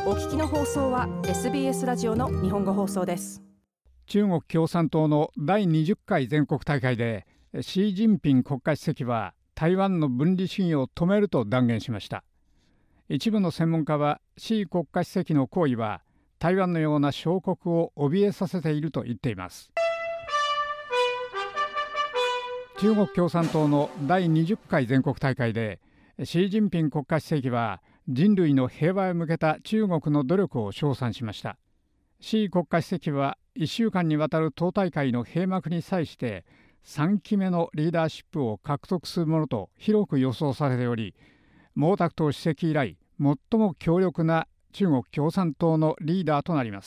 お聞きの放送は SBS ラジオの日本語放送です。 中国共産党の第20回全国大会で習近平国家主席は台湾の分離主義を止めると断言しました。一部の専門家は習国家主席の行為は台湾のような小国を怯えさせていると言っています。中国共産党の第20回全国大会で習近平国家主席は人類の平和へ向けた中国の努力を称賛しました。習国家主席は1週間にわたる党大会の閉幕に際して3期目のリーダーシップを獲得するものと広く予想されており、毛沢東主席以来最も強力な中国共産党のリーダーとなります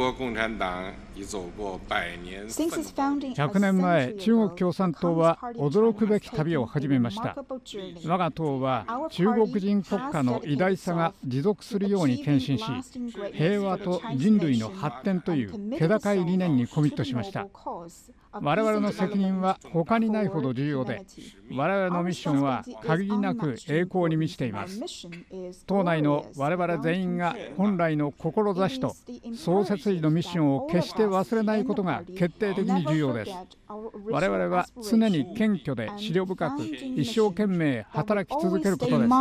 。100年前、中国共産党は驚くべき旅を始めました。我が党は中国人国家の偉大さが持続するように献身し、平和と人類の発展という気高い理念にコミットしました。我々の責任は他にないほど重要で、我々のミッションは限りなく栄光に満ちています。党内の我々全員が本来の志と創設時のミッションを決して忘れないことが決定的に重要です。我々は常に謙虚で思慮深く一生懸命働き続けることです。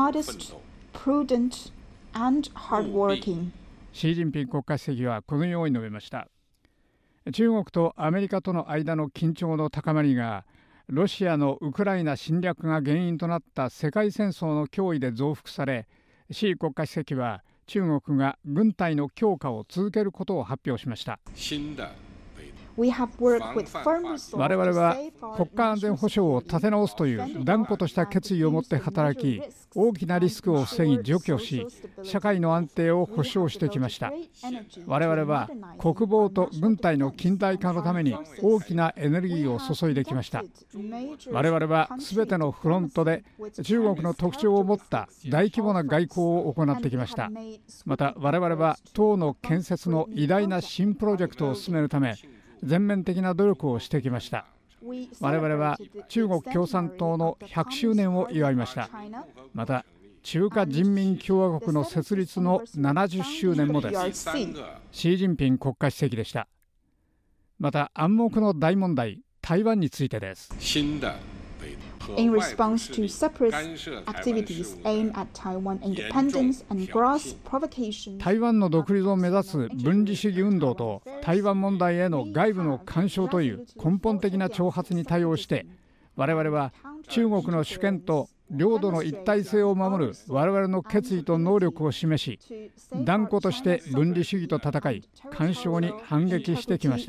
習近平国家主席はこのように述べました。中国とアメリカとの間の緊張の高まりがロシアのウクライナ侵略が原因となった世界戦争の脅威で増幅され、習国家主席は中国が軍隊の強化を続けることを発表しました。我々は国家安全保障を立て直すという断固とした決意を持って働き、大きなリスクを防ぎ除去し、社会の安定を保障してきました。我々は国防と軍隊の近代化のために大きなエネルギーを注いできました。我々はすべてのフロントで中国の特徴を持った大規模な外交を行ってきました。また我々は党の建設の偉大な新プロジェクトを進めるため全面的な努力をしてきました。我々は中国共産党の100周年を祝いました。また中華人民共和国の設立の70周年もです。習近平国家主席でした。また暗黙の大問題、台湾についてです。 In response to separatist activities aimed at Taiwan independence and gross provocation. 台湾の独立を目指す分離主義運動と台湾問題への外部の干渉という根本的な挑発に対応して、我々は中国の主権と領土の一体性を守る我々の決意と能力を示し、断固として分離主義と戦い、干渉に反撃してきました。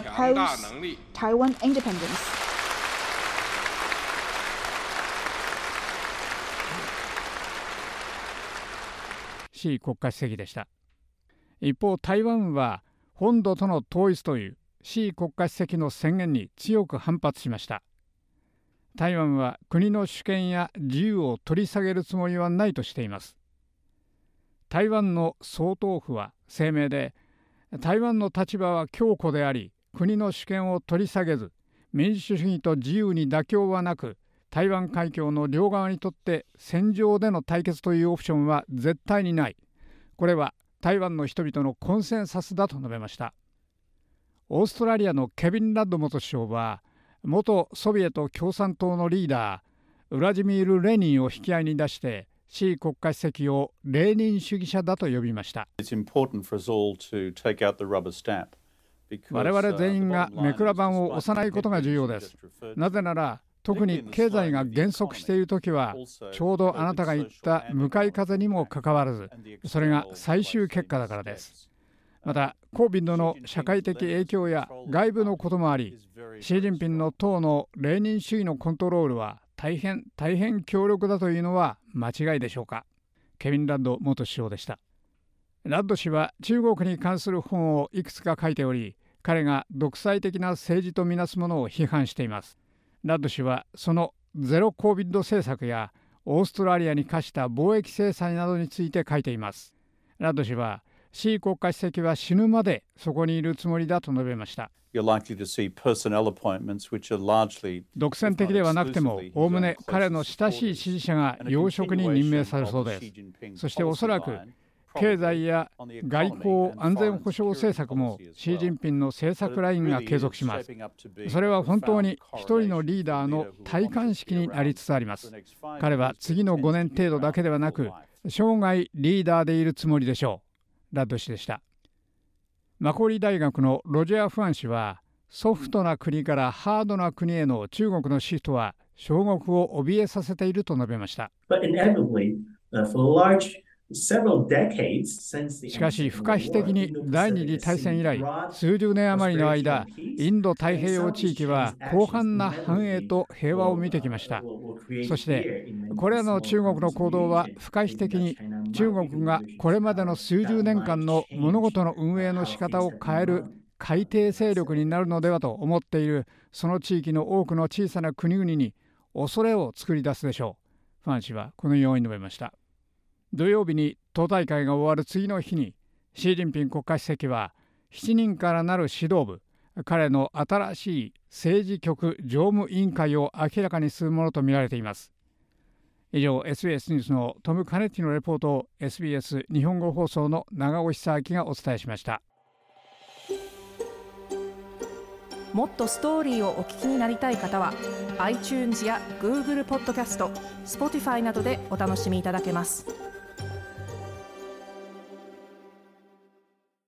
習国家主席でした。一方、台湾は本土との統一という習国家主席の宣言に強く反発しました。台湾は国の主権や自由を取り下げるつもりはないとしています。台湾の総統府は声明で、台湾の立場は強固であり、国の主権を取り下げず、民主主義と自由に妥協はなく、台湾海峡の両側にとって戦場での対決というオプションは絶対にない。これは台湾の人々のコンセンサスだと述べました。オーストラリアのケビン・ラッド元首相は、元ソビエト共産党のリーダーウラジミール・レーニンを引き合いに出して、習国家主席をレーニン主義者だと呼びました。我々全員がめくら板を押さないことが重要です。なぜなら特に経済が減速しているときは、ちょうどあなたが言った向かい風にもかかわらず、それが最終結果だからです。また、COVIDの社会的影響や外部のこともあり、習近平の党のレーニン主義のコントロールは大変強力だというのは間違いでしょうか。ケビン・ラッド元首相でした。ラッド氏は中国に関する本をいくつか書いており、彼が独裁的な政治とみなすものを批判しています。ラッド氏はそのゼロ COVID 政策やオーストラリアに課した貿易制裁などについて書いています。ラッド氏は習国家主席は死ぬまでそこにいるつもりだと述べました。独占的ではなくても、おおむね彼の親しい支持者が要職に任命されそうです。そしておそらく経済や外交安全保障政策もシー・ジンピンの政策ラインが継続します。それは本当に一人のリーダーの戴冠式になりつつあります。彼は次の5年程度だけではなく生涯リーダーでいるつもりでしょう。ラッド氏でした。マコーリー大学のロジャー・ファン氏は、ソフトな国からハードな国への中国のシフトは小国を怯えさせていると述べました。しかし不可避的に第二次大戦以来数十年余りの間、インド太平洋地域は広範な繁栄と平和を見てきました。そしてこれらの中国の行動は不可避的に中国がこれまでの数十年間の物事の運営の仕方を変える海底勢力になるのではと思っているその地域の多くの小さな国々に恐れを作り出すでしょう。ファン氏はこのように述べました。土曜日に党大会が終わる次の日にシー・ジンピン国家主席は7人からなる指導部、彼の新しい政治局常務委員会を明らかにするものとみられています。以上 SBS ニュースのトム・カネッティのレポートを SBS 日本語放送の長尾久明がお伝えしました。 もっとストーリーをお聞きになりたい方は iTunes や Google ポッドキャスト、Spotify などでお楽しみいただけます。